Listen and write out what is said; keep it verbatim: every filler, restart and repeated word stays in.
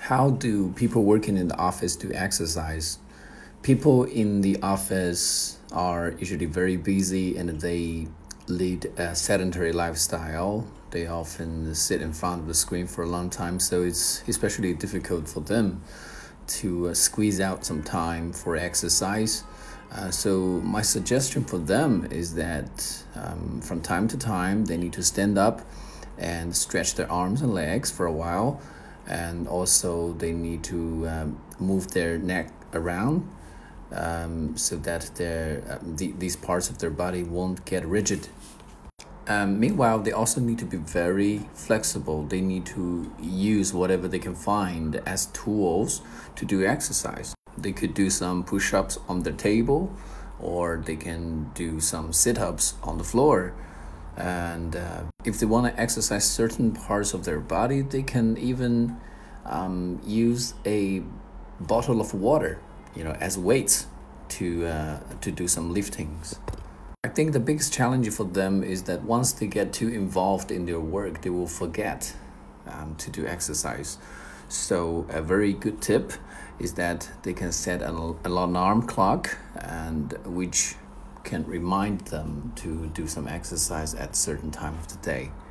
How do people working in the office do exercise? People in the office are usually very busy and they lead a sedentary lifestyle. They often sit in front of the screen for a long time, so it's especially difficult for them to uh, squeeze out some time for exercise. Uh, so my suggestion for them is that um, from time to time they need to stand up and stretch their arms and legs for a while, and also they need to um, move their neck around um, so that their uh, the, these parts of their body won't get rigid. Um, meanwhile, they also need to be very flexible. They need to use whatever they can find as tools to do exercise. They could do some push-ups on the table, or they can do some sit-ups on the floor. And uh, if they want to exercise certain parts of their body, they can even um, use a bottle of water, you know, as weights to uh, to do some liftings. I think the biggest challenge for them is that once they get too involved in their work, they will forget um, to do exercise. So a very good tip is that they can set an, an alarm clock, and which can remind them to do some exercise at a certain time of the day.